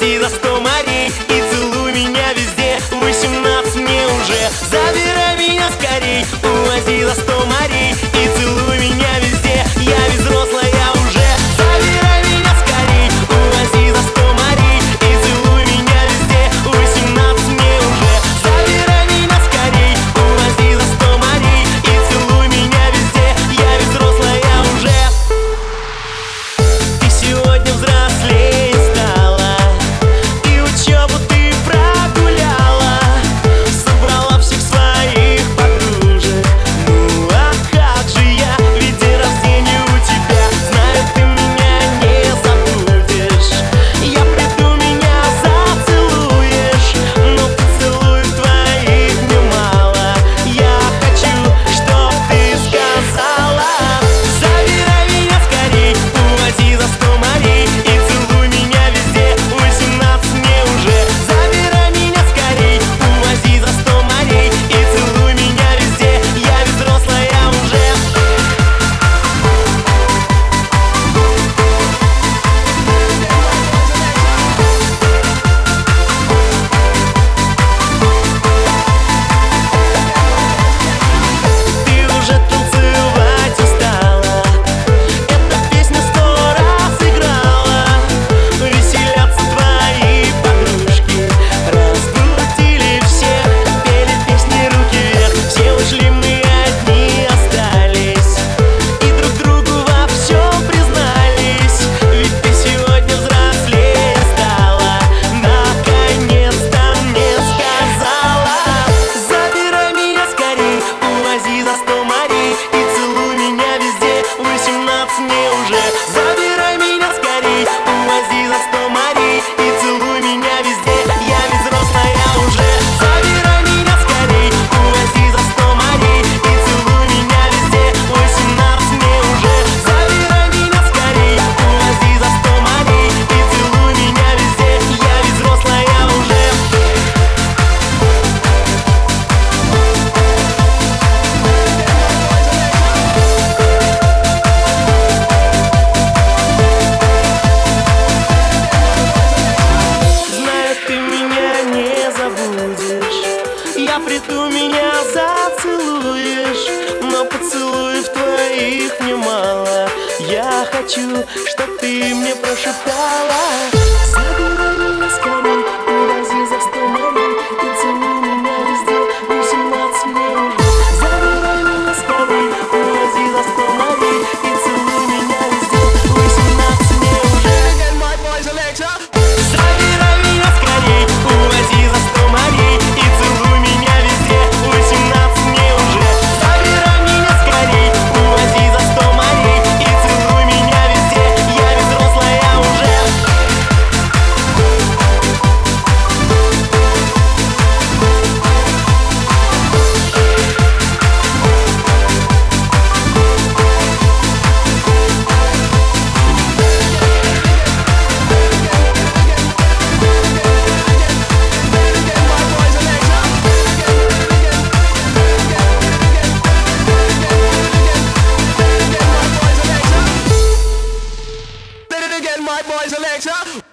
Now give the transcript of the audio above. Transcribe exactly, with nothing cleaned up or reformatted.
Увози за сто морей и целуй меня везде. Восемнадцать мне уже, забирай меня скорей. Увози за сто морей и целуй меня везде. Я ведь взрослая уже, забирай меня скорей. Увози за сто морей и целуй меня везде. Восемнадцать мне уже, забирай меня скорей. Увози за сто морей и целуй меня везде. Я ведь взрослая уже. Ты сегодня взрослее стала, и учебу ты прогуляла, собрала всех своих подружек. Ну а как же я, ведь день рождения у тебя. Знаю, ты меня не забудешь. Я приду, меня зацелуешь, но поцелуев твоих мне мало. Я хочу, чтоб ты сказала: забирай меня скорей, увози за сто морей и целуй меня везде. Восемнадцать мне уже, забирай меня скорей. Увози за сто морей и целуй меня везде. Я ведь взрослая уже. Ты уже танцевать устала, эта песня сто раз играла. Веселятся твои подружки, разбудили всех, пели песни руки вверх. Все ушли, мы одни остались, и друг другу во всем признались. Ведь ты сегодня взрослее стала, наконец-то мне сказала: забирай меня скорей, увози за сто морей и целуй меня везде. Восемнадцать мне уже, забирай меня скорей. Увози за сто морей и целуй меня везде. Я ведь взрослая уже, забирай меня скорей. Увози за сто морей и целуй меня везде. Восемнадцать мне уже, забирай меня скорей. Увози за сто морей и целуй меня везде. Я ведь взрослая уже. Знаю, ты меня не забудешь. Я приду, меня зацелуешь, но поцелуев твоих мне мало. Я хочу, чтоб ты мне прошептала: забирай меня скорей, увози за сто морей и целуй меня везде. Восемнадцать мне уже, забирай меня скорей. Увози за сто морей и целуй меня везде. Восемнадцать мне уже. Забирай меня скорей, увози за сто морей и целуй меня везде. Восемнадцать мне уже, забирай меня скорей. Увози за сто морей и целуй меня везде. Я ведь взрослая уже. My boys Alexa.